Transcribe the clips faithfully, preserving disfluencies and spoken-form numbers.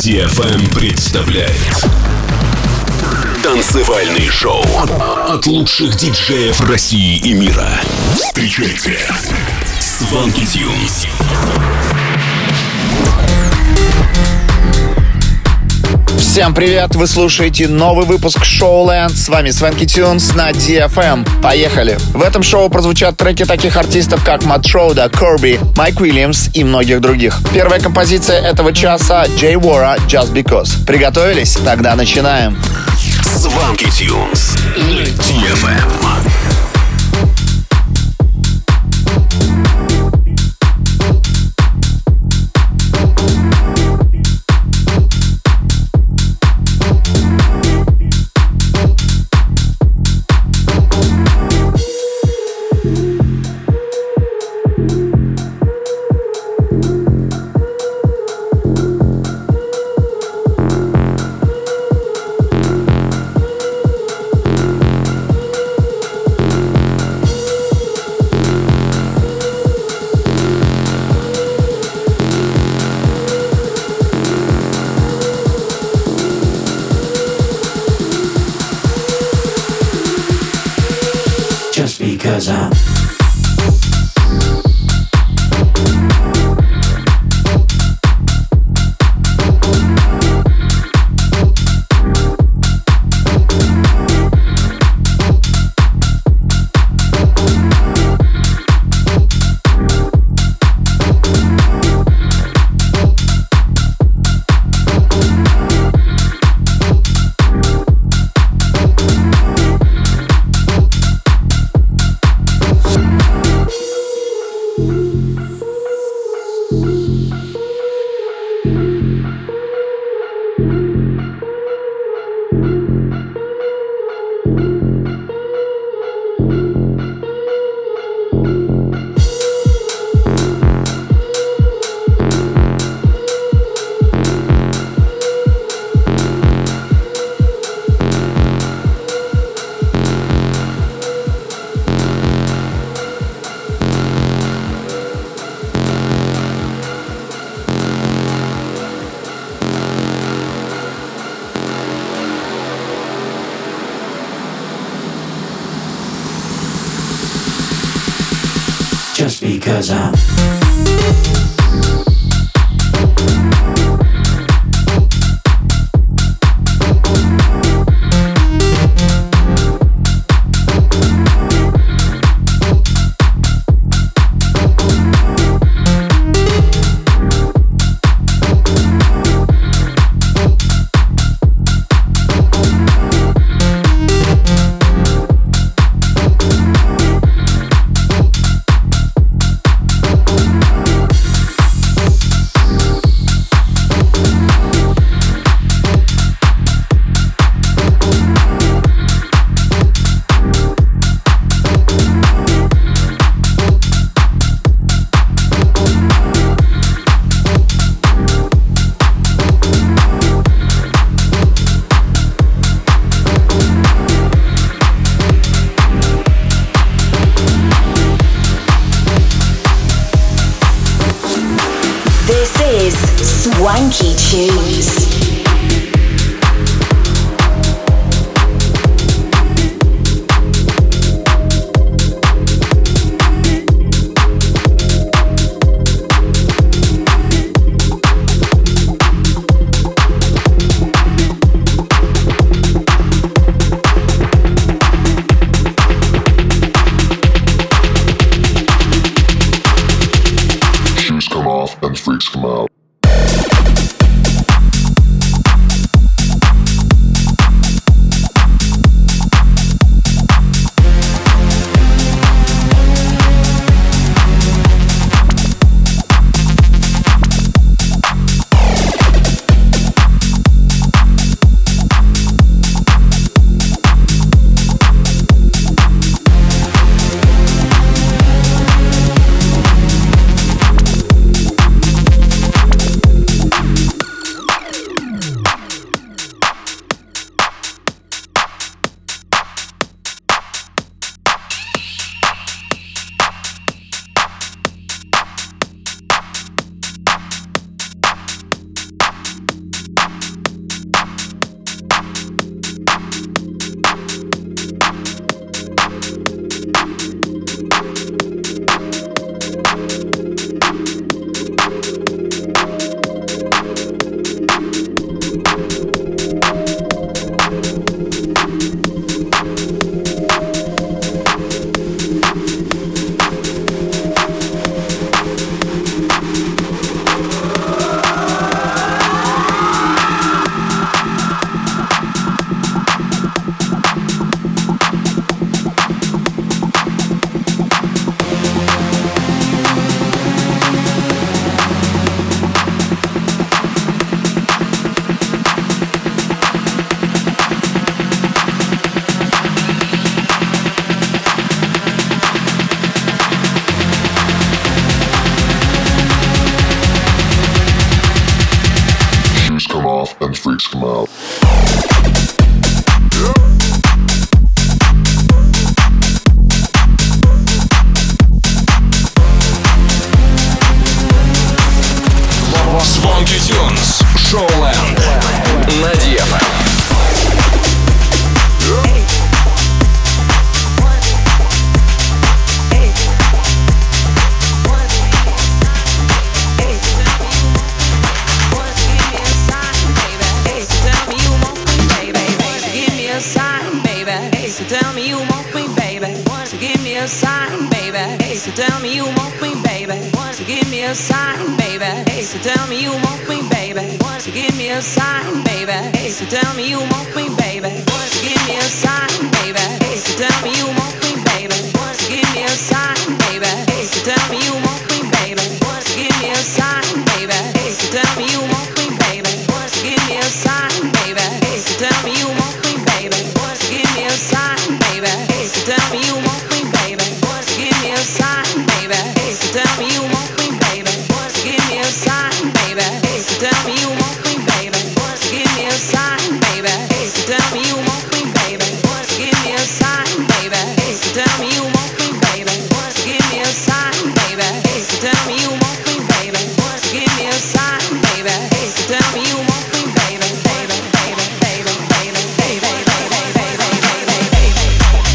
ди эф эм представляет танцевальный шоу от лучших диджеев России и мира. Встречайте Swanky Tunes. Всем привет! Вы слушаете новый выпуск Showland. С вами Swanky Tunes на ди эф эм. Поехали! В этом шоу прозвучат треки таких артистов, как Matt Schroeder, Kirby, Майк Уильямс и многих других. Первая композиция этого часа — Jay Wara, Just Because. Приготовились? Тогда начинаем. Swanky Tunes на ди эф эм. Just because I'm Just because I'm Swanky Tunes. Shoes come off and freaks come out. and freaks come out. Swanky Tunes, Showland на ди эф эм. Tell me you want me, baby. So give me a sign, baby. So tell me you want me, baby. So give me a sign, baby. So tell me you want me, baby. So give me a sign, baby. So tell me you want me, baby. So give me a sign, baby. So tell me you want me, baby. So give me a sign, baby. So tell me you want me, baby. So give me a sign, baby. So tell me you want me, baby. So give me a sign, baby. So tell me you want me, baby. So give me a sign, baby. So tell me you want me, baby. So give me a sign, baby. So tell me you want me, baby. So give me a sign, baby. So tell me you want me, baby. So give me a sign, baby. So tell me you want me, baby. So give me a sign, baby. So tell me you want me, baby. So give me a sign, baby. So tell me you want me, baby. So give me a sign, baby. So tell me you want me, baby. Baby, baby, baby, baby, baby, baby, baby, baby, baby.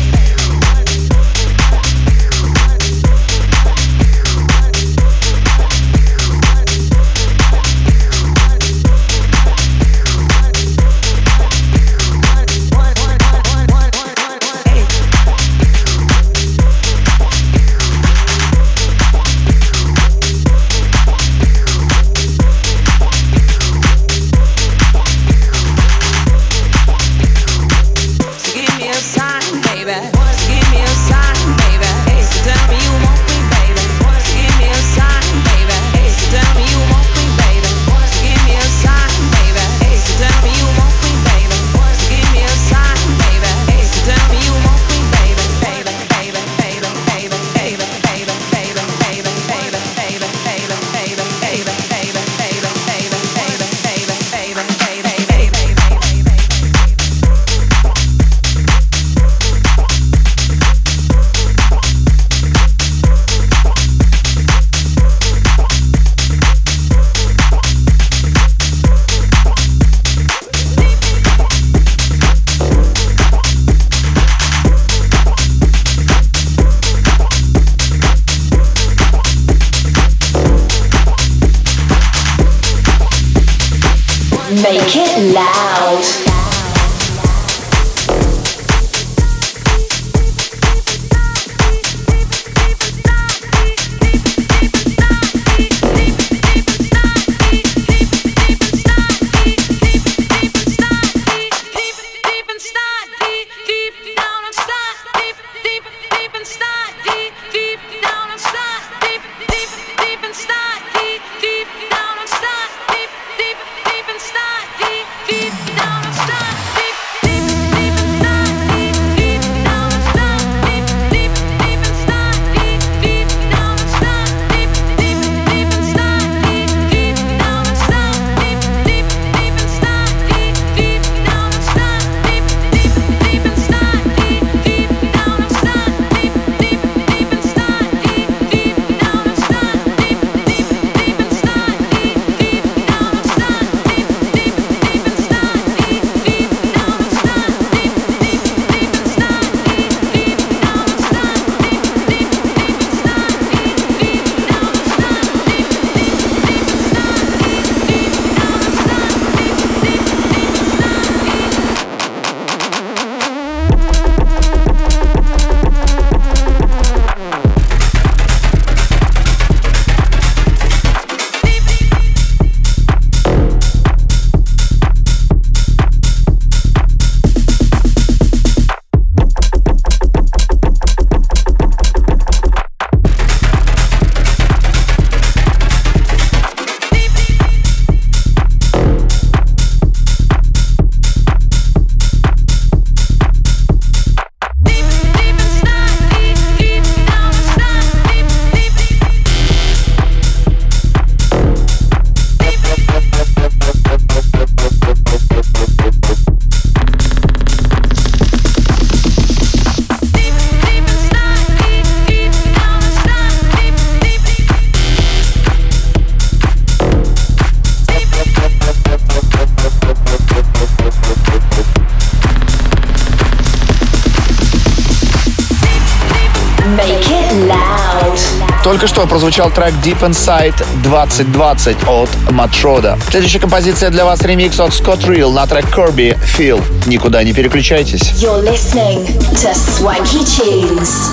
Make it loud. Deep down Только что прозвучал трек Deep Inside двадцать двадцать от Матшода. Следующая композиция для вас — ремикс от Scott Real на трек Kirby Feel. Никуда не переключайтесь. You're listening to Swanky Tunes.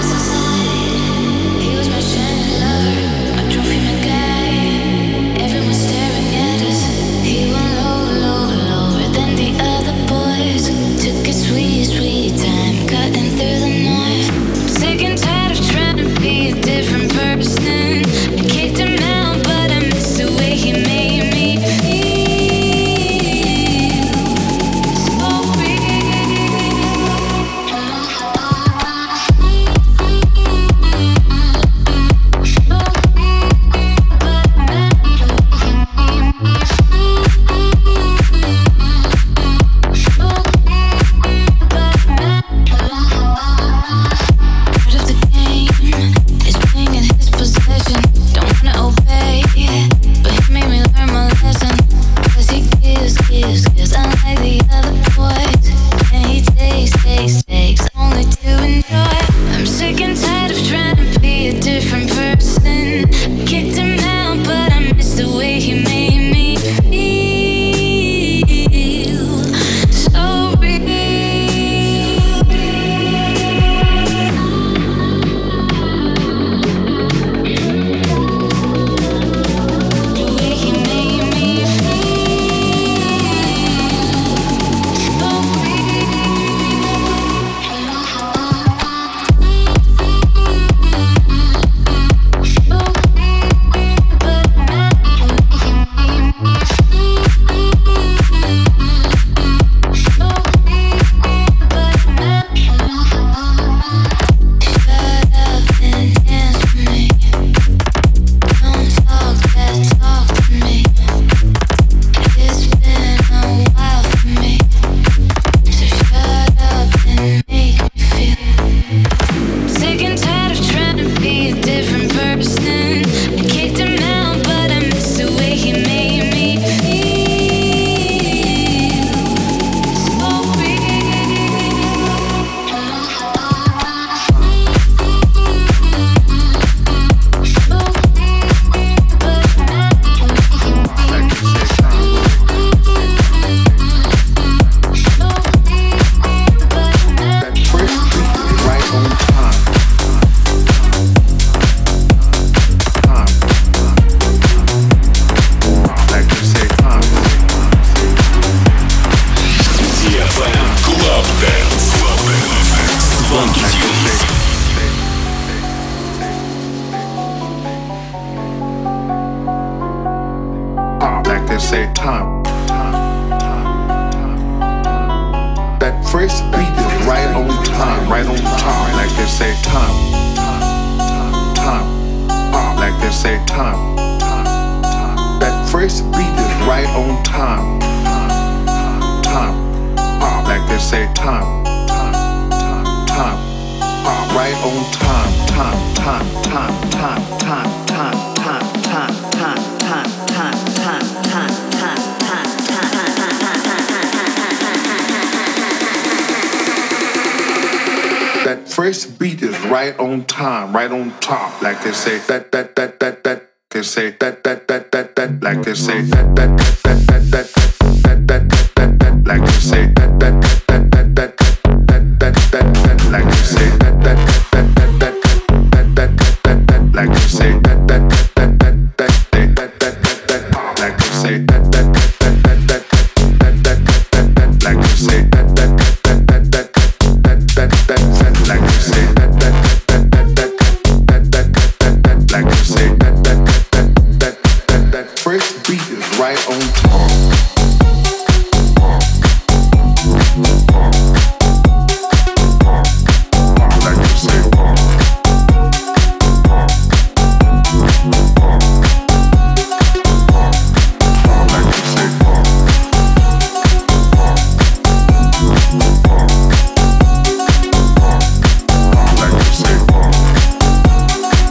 First beat is right on time, right on top, like they say that that that that that they say that that that that that like they say that that that that that that that that that that like they say that that that that that that that that that like they say that that that that that that that that that like they say that that that that that that that that like they say that that that that that that that that like they say that that that that that that that like they say that that that that that that that like they say that that that that that that first beat is right on top.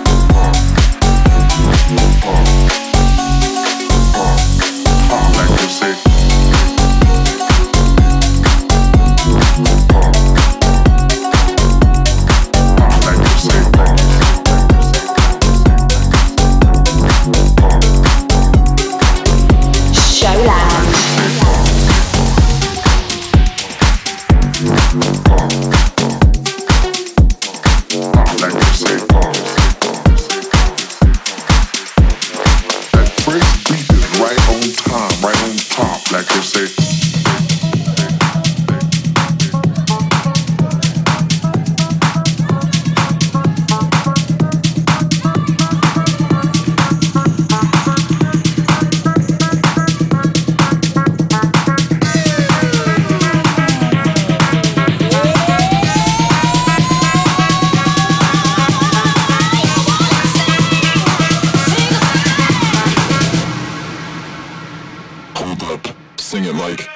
Like first beat is right on time, right on top, like they say. Sing it like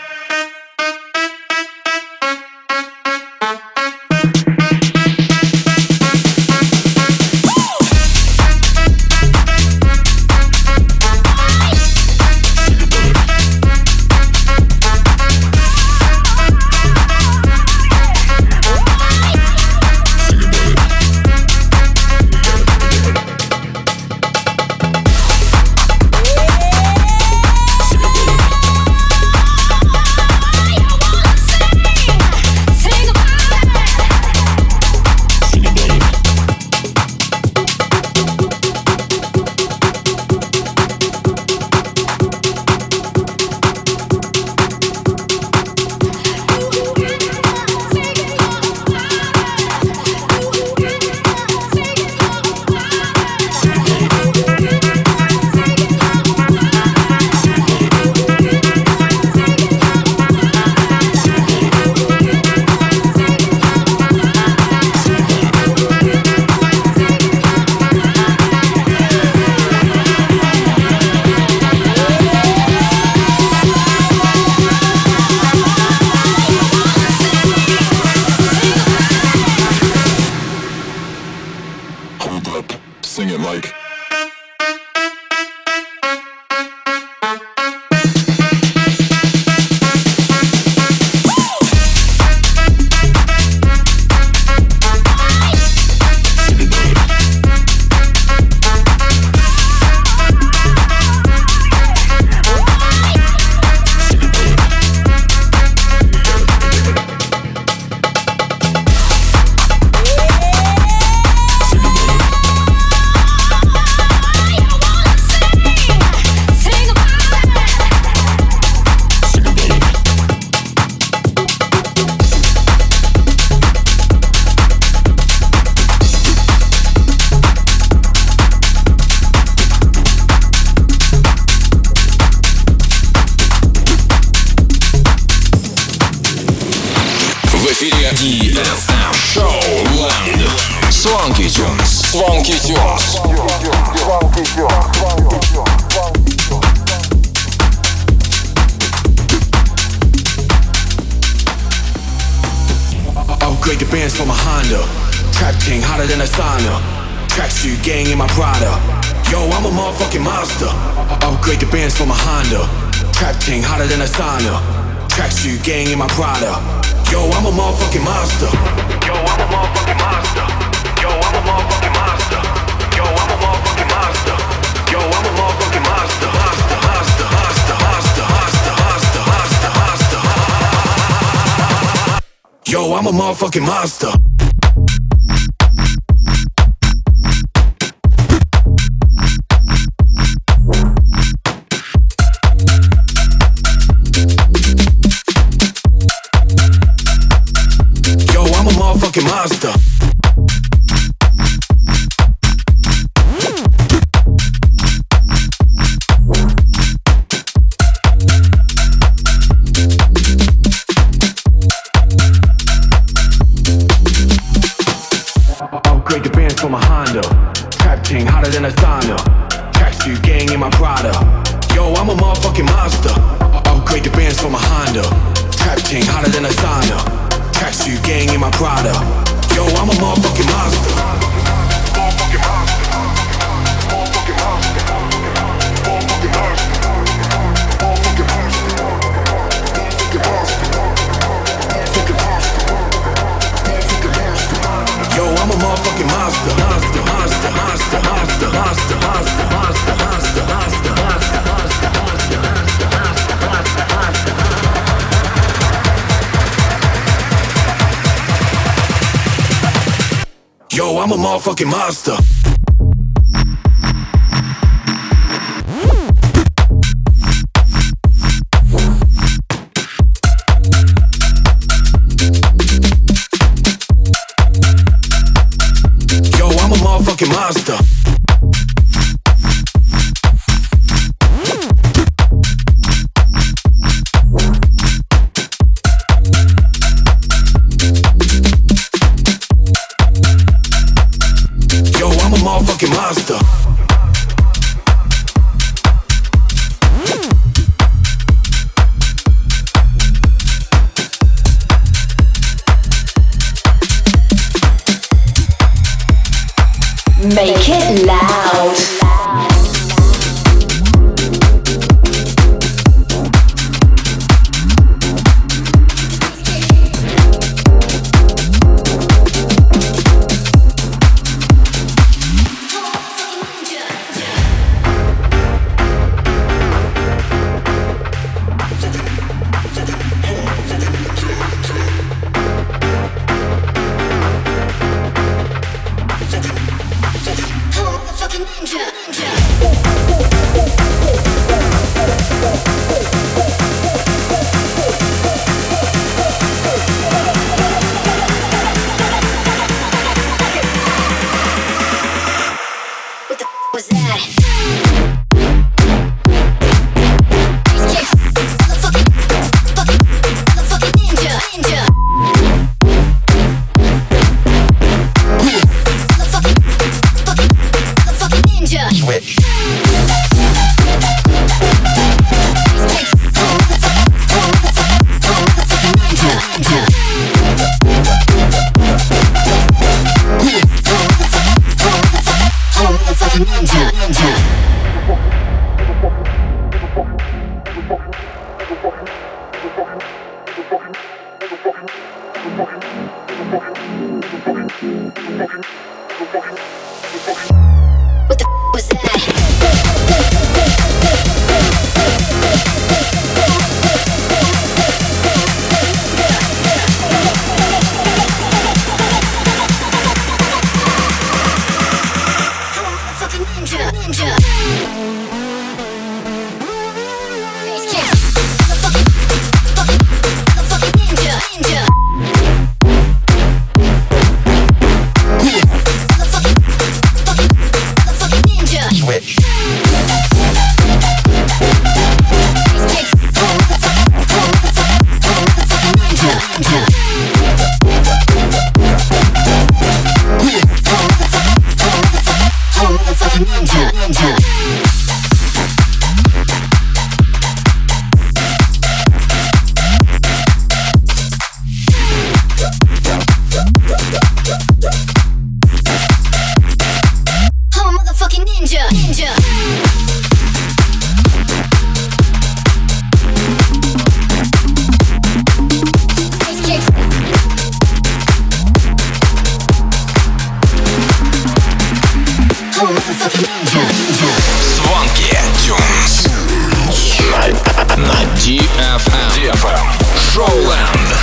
sing it like ди эф эм Showland. Swanky Tunes. Swanky Tunes. Upgrade the bands from a Honda. Trap king hotter than a sauna. Tracksuit gang in my Prada. Yo, I'm a motherfucking monster. Upgrade the bands from a Honda. Trap king hotter than a sauna. Tracksuit gang in my Prada. Yo, I'm a motherfucking monster. Yo, I'm a motherfucking monster. Yo, I'm a motherfucking monster. Yo, I'm a motherfucking monster. Yo, I'm a motherfucking monster. Monster, monster, monster, monster, monster, monster, monster, monster. Yo, I'm a motherfucking monster. Motherfucking monster. Upgrade the bands from a Honda. Trap king hotter than a sauna. Tracksuit gang in my Prada. Yo, I'm a motherfucking monster. Upgrade the bands from a Honda. Trap king hotter than a sauna. Tracksuit gang in my Prada. Yo, I'm a motherfucking monster. Motherfucking monster. Motherfucking monster. Motherfucking monster. Motherfucking monster. Motherfucking monster. Motherfucking monster. Motherfucking monster. Yo, I'm a motherfucking monster. Monster, monster, monster, monster, monster, monster, monster, monster, monster, monster, monster, monster, monster, monster, monster, monster. Yo, I'm a motherfucking monster. What the f was that? Swanky Tunes на ди эф эм. ди эф эм Showland.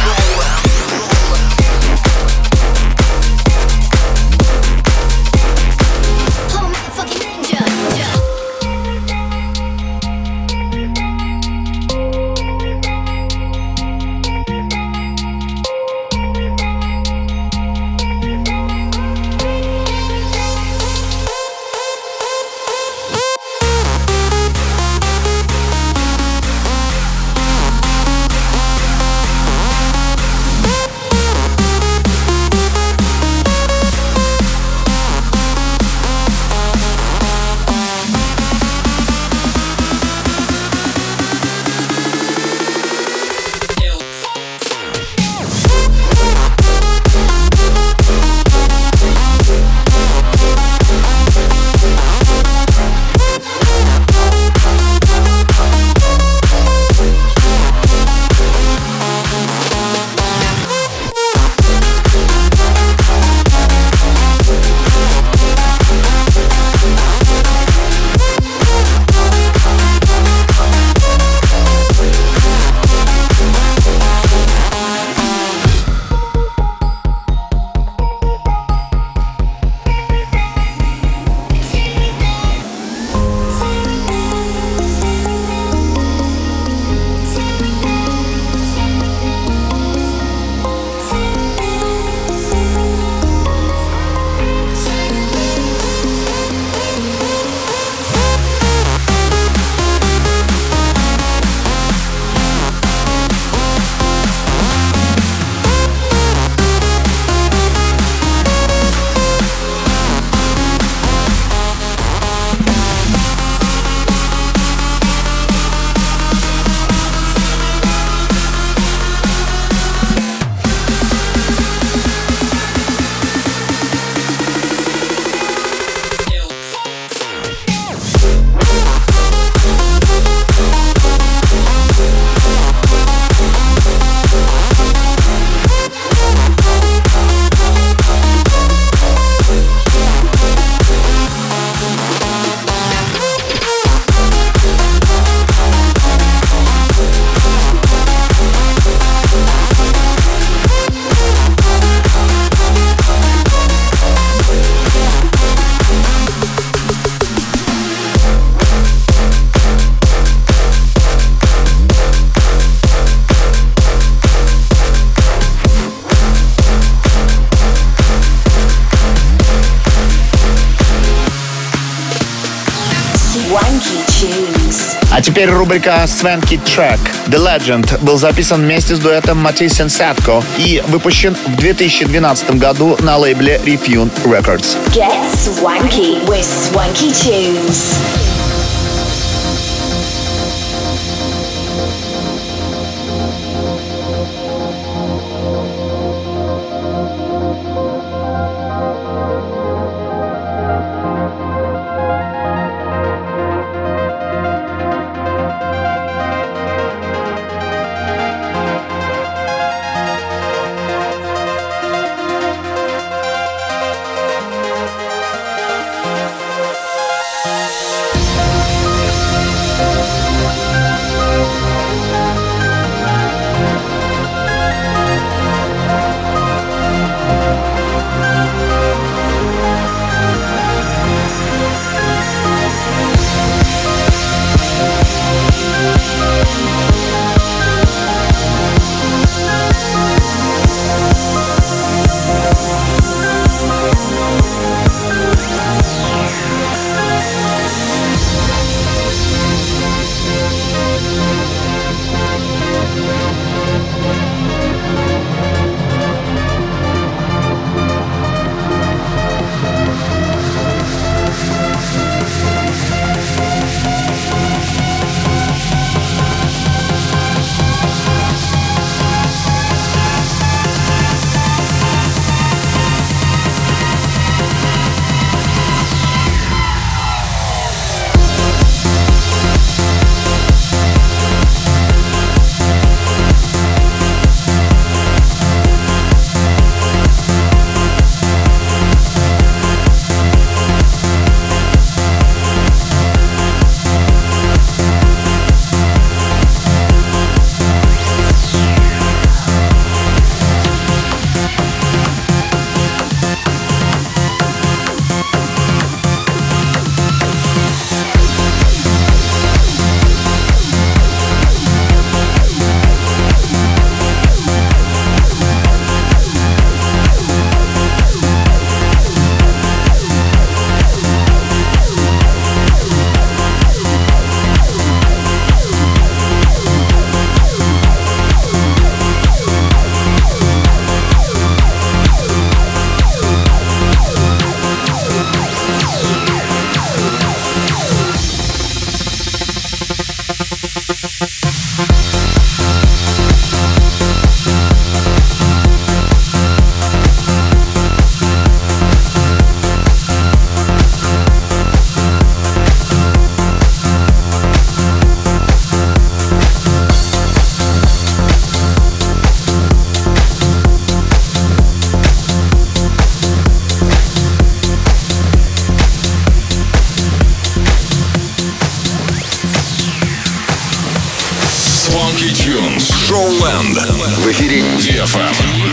А теперь рубрика Swanky Track. The Legend был записан вместе с дуэтом Matisse и Sadko и выпущен в две тысячи двенадцатом году на лейбле Refune Records. Get swanky with Swanky Tunes. Funky Tunes. Showland. В эфире ди эф эм.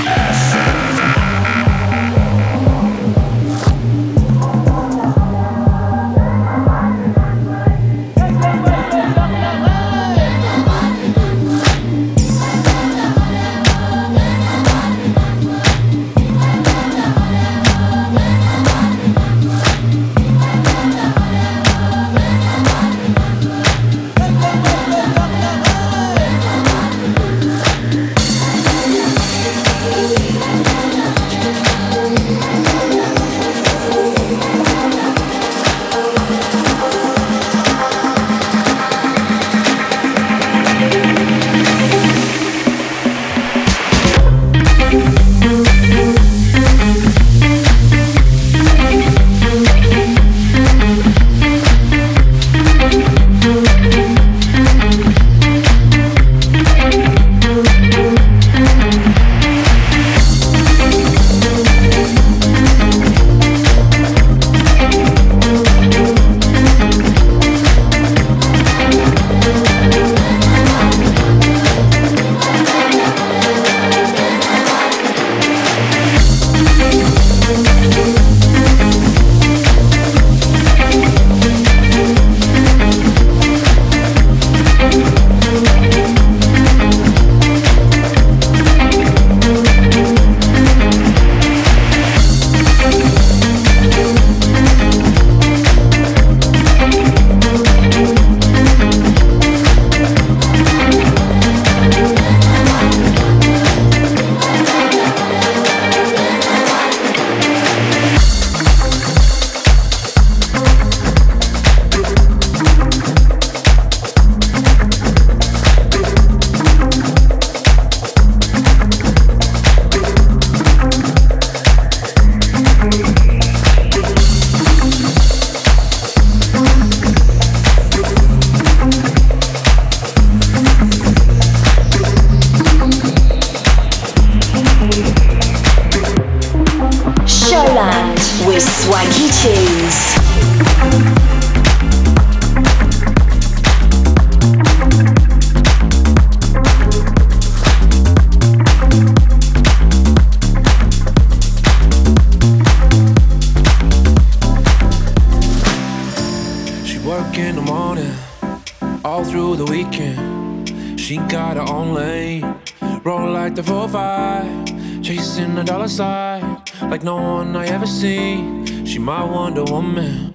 Like no one I ever see. She my Wonder Woman.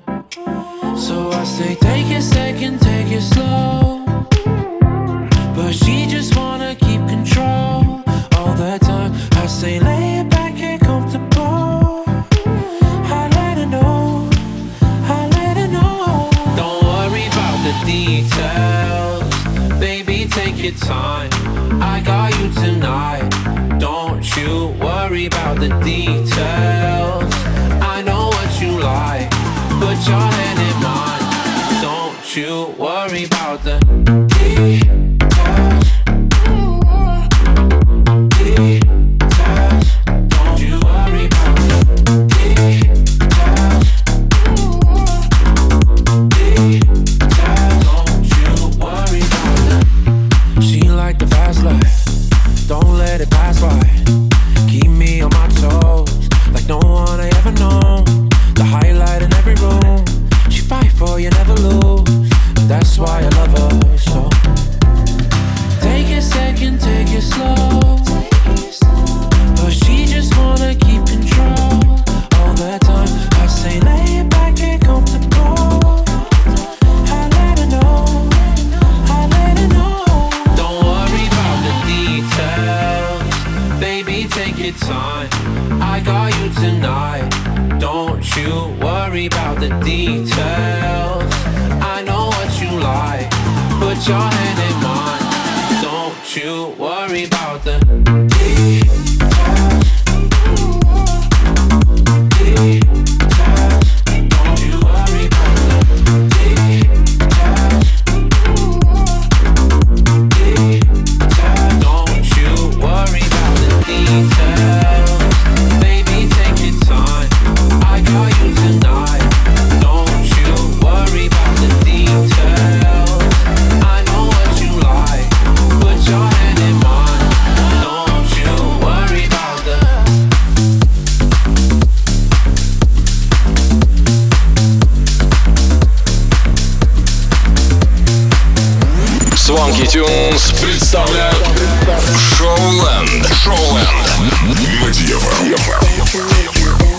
So I say take it second, take it slow. But she just wanna keep control all the time. I say lay it back, get comfortable. I let her know, I let her know. Don't worry about the details. Baby, take your time. I got you tonight. Don't you worry about the details. I know what you like. Put your hand in mine. Don't you worry about the details. Details. Don't you worry about the details. Details. Don't you worry about the. She like the fast life. Don't let it pass by. Keep me on my toes, like no one I ever known. The highlight in every room. She fight for you, never lose. That's why I love her so. Take it second, take it slow. But she just wanna keep control all the time. I say lay it back, get comfortable. I let her know, I let her know. Don't worry about the details. Baby, take your time. I got you tonight. Don't you worry about the details. I know what you like. Put your hand in mine. Don't you worry about the details. Details. Don't you worry about the details. Details. Don't you worry about the details. Baby, take your time. I got you tonight. Don't you worry about the details. I know what you like. Put Swanky Tunes представляют Showland. Showland. На ди эф эм.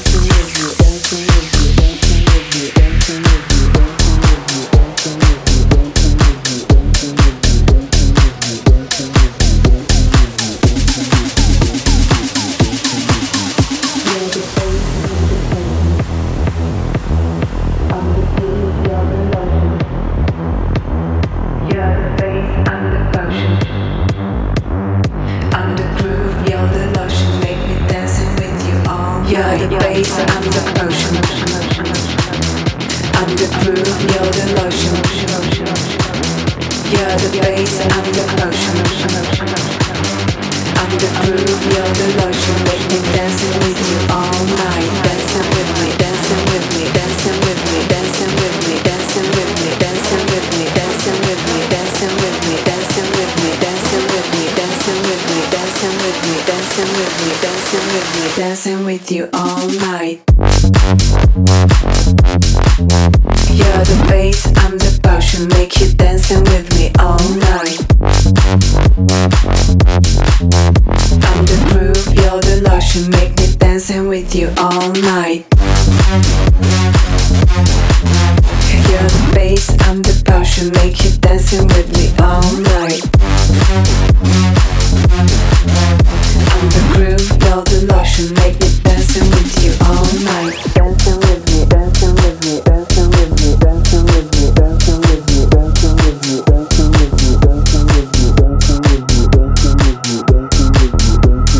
Dancing with you all night. You're the bass, I'm the potion, make you dancing with me all night. I'm the groove, you're the lotion, make me dancing with you all night. You're the bass, I'm the potion, make you dancing with me all night. I'm the groove, you're the lotion, make me dancing with you all night. Dancing with me, dancing with me, dancing with me, dancing with me, dancing with me, dancing with me, dancing with me, dancing with me, dancing with me, dancing with me, dancing with me, dancing with me,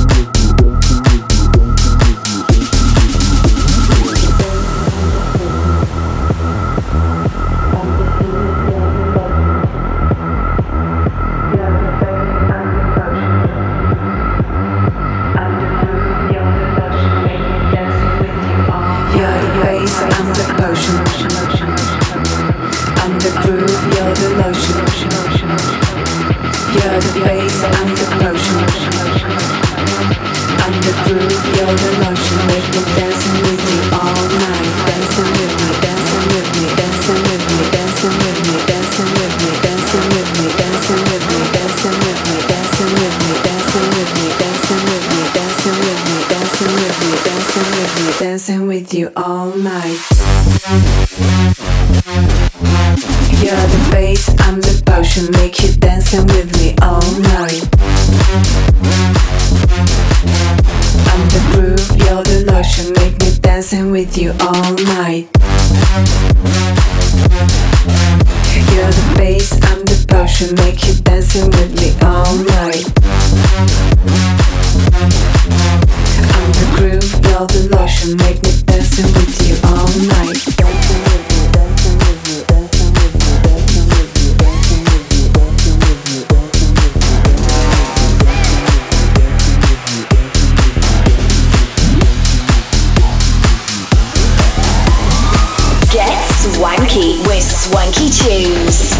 dancing with you all night. You're the bass, I'm the potion, make you dancing with me all night. I'm the groove, you're the lotion, make me dancing with you all night. You're the bass, I'm the potion, make you dancing with me all night. I'm the groove, you're the lotion, make me dancing with you all night. Dancing with me, dancing with me, dancing with me, dancing with me, dancing with me, dancing with me, dancing with me. Get swanky with Swanky Tunes.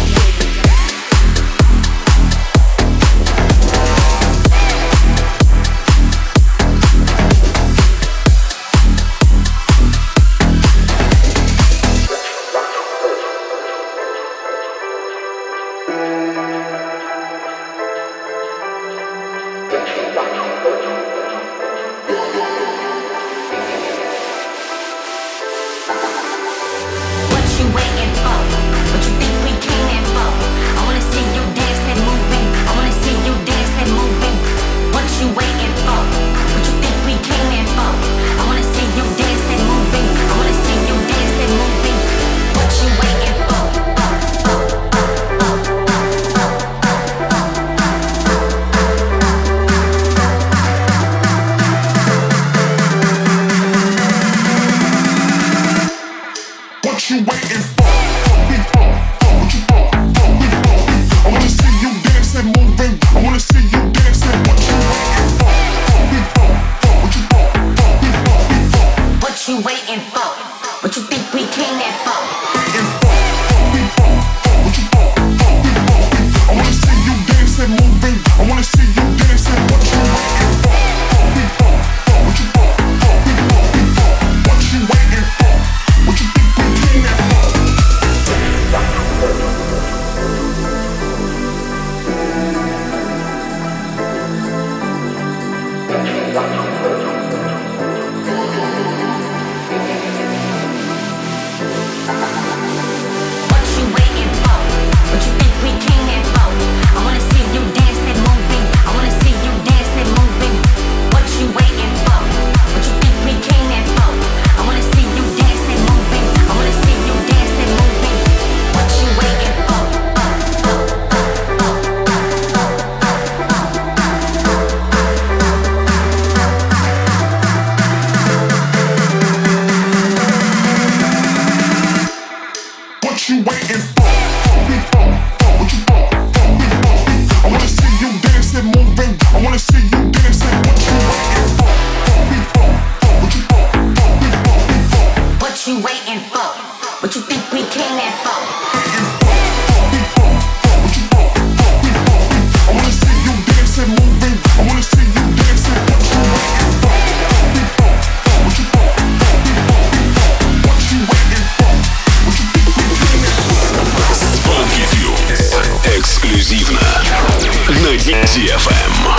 What you waiting for? What you think we эксклюзивно на ди эф эм.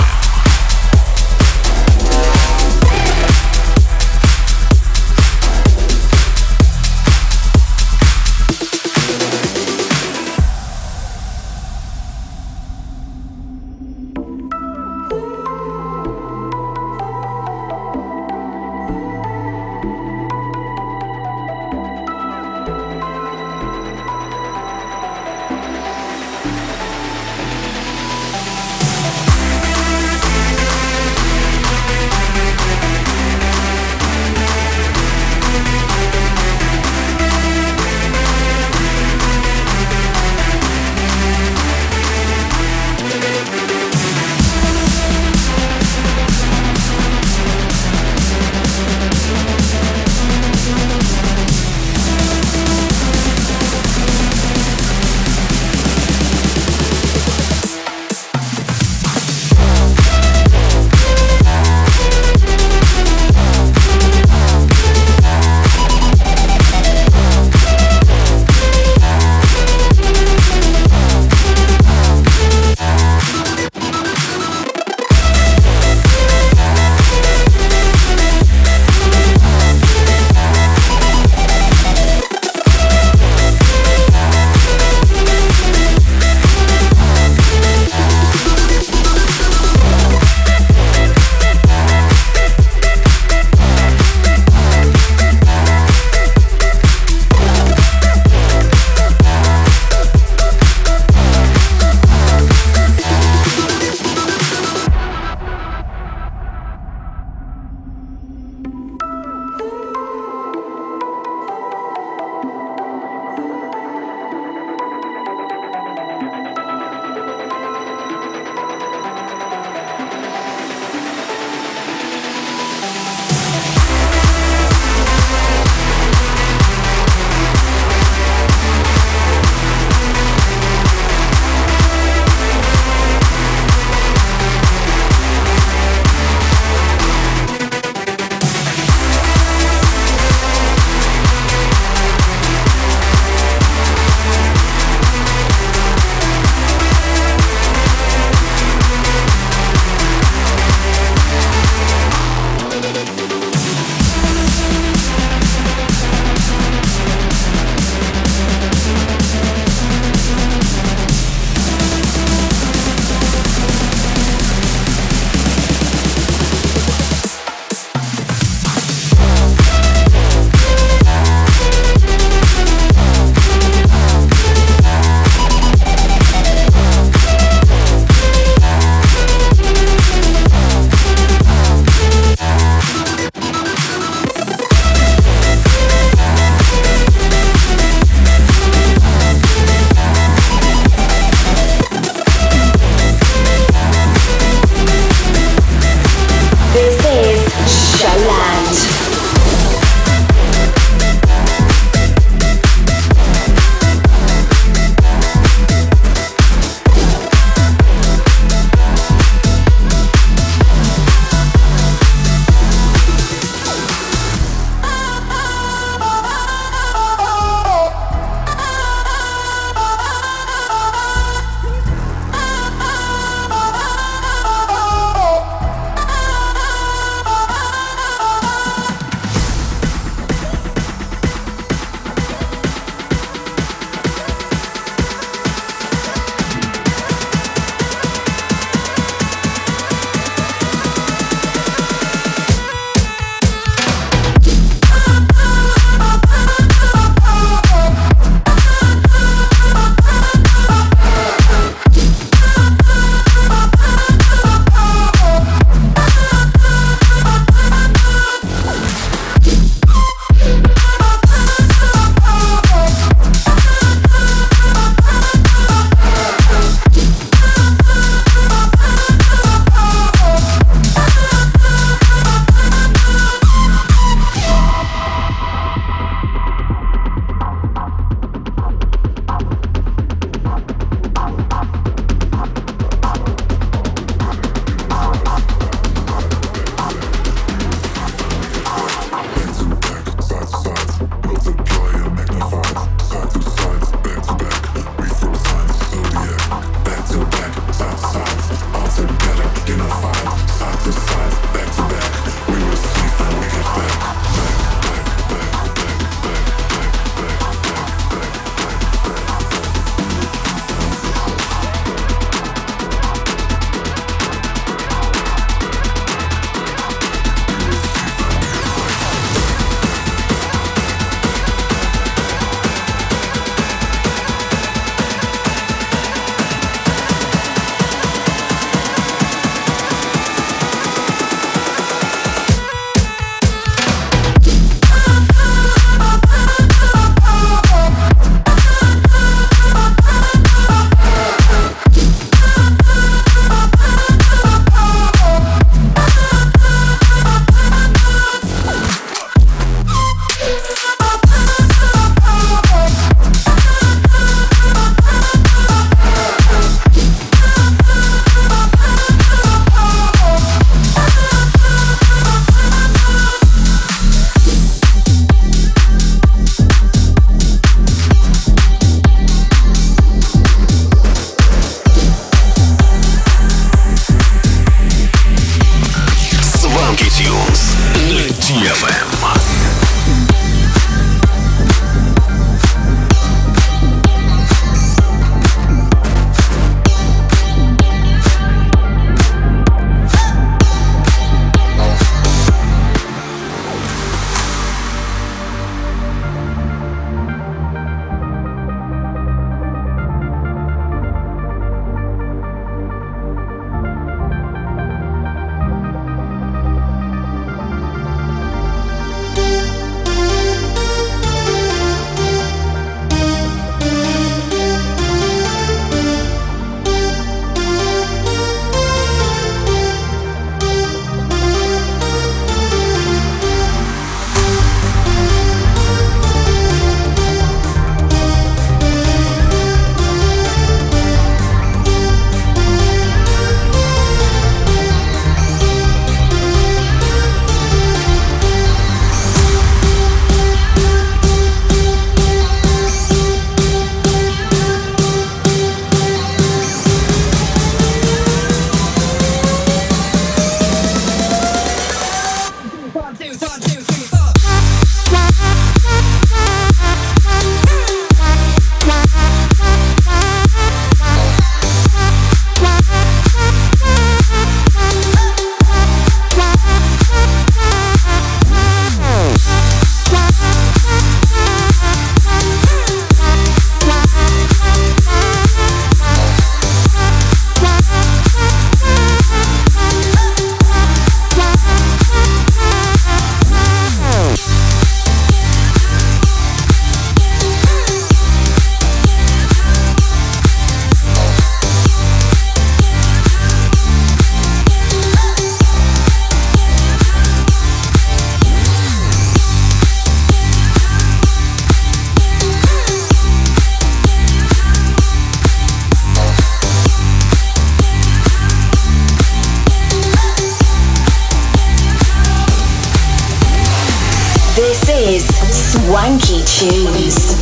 Swanky Tunes.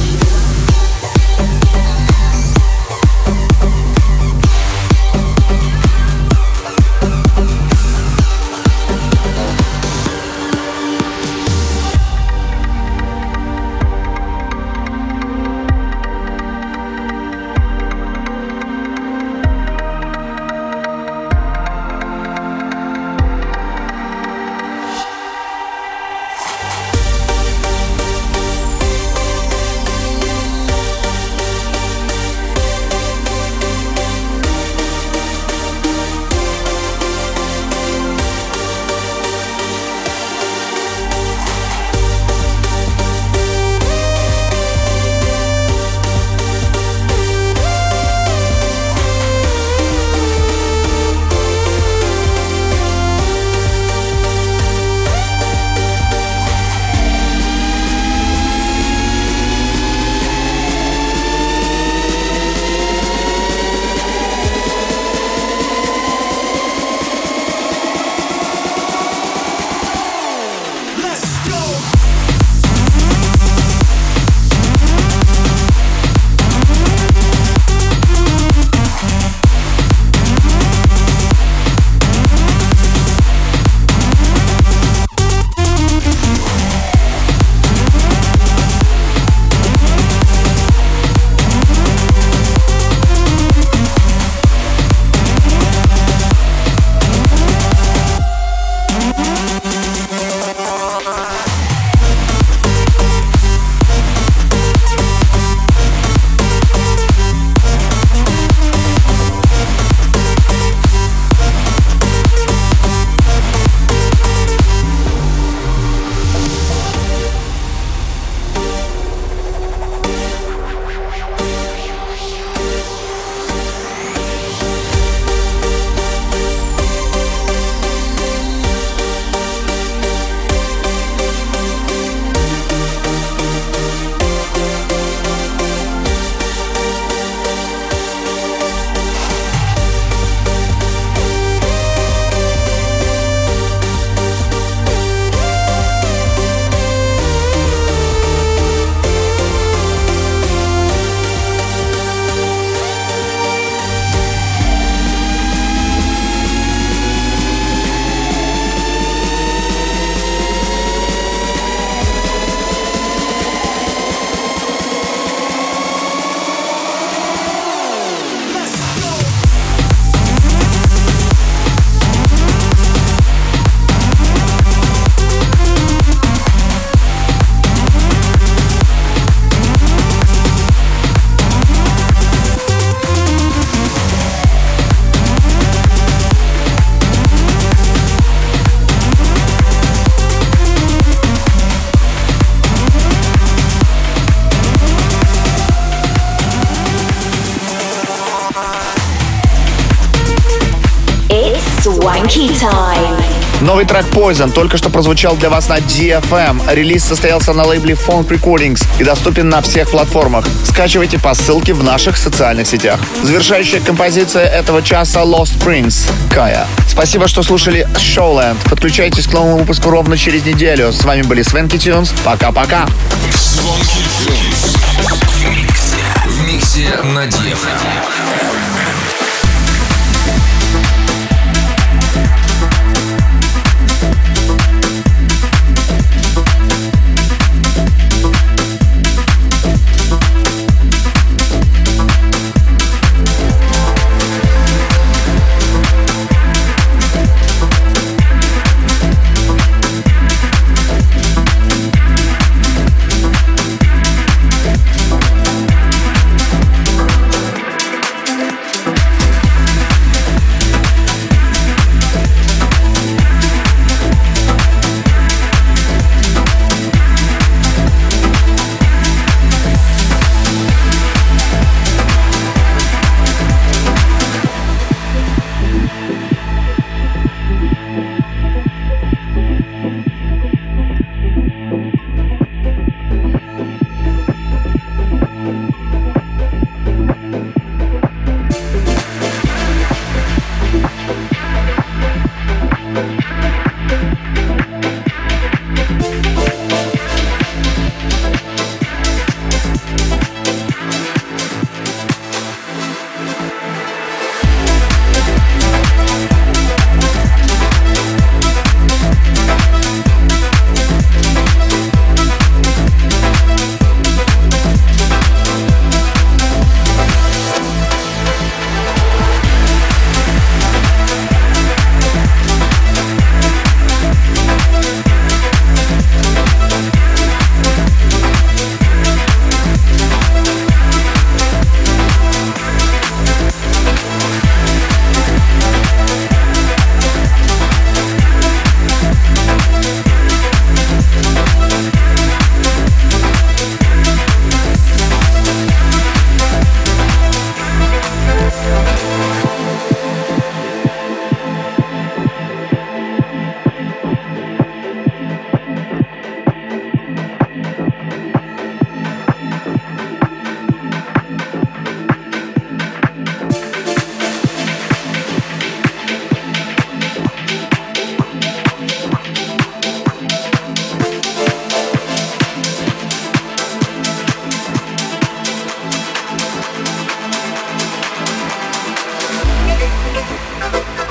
Swanky Time. Новый трек Poison только что прозвучал для вас на ди эф эм. Релиз состоялся на лейбле Funk Recordings и доступен на всех платформах. Скачивайте по ссылке в наших социальных сетях. Завершающая композиция этого часа Lost Prince, Kaya. Спасибо, что слушали Showland. Подключайтесь к новому выпуску ровно через неделю. С вами были Swanky Tunes. Пока-пока. Swanky Tunes. В миксе. В миксе на ди эф эм. me.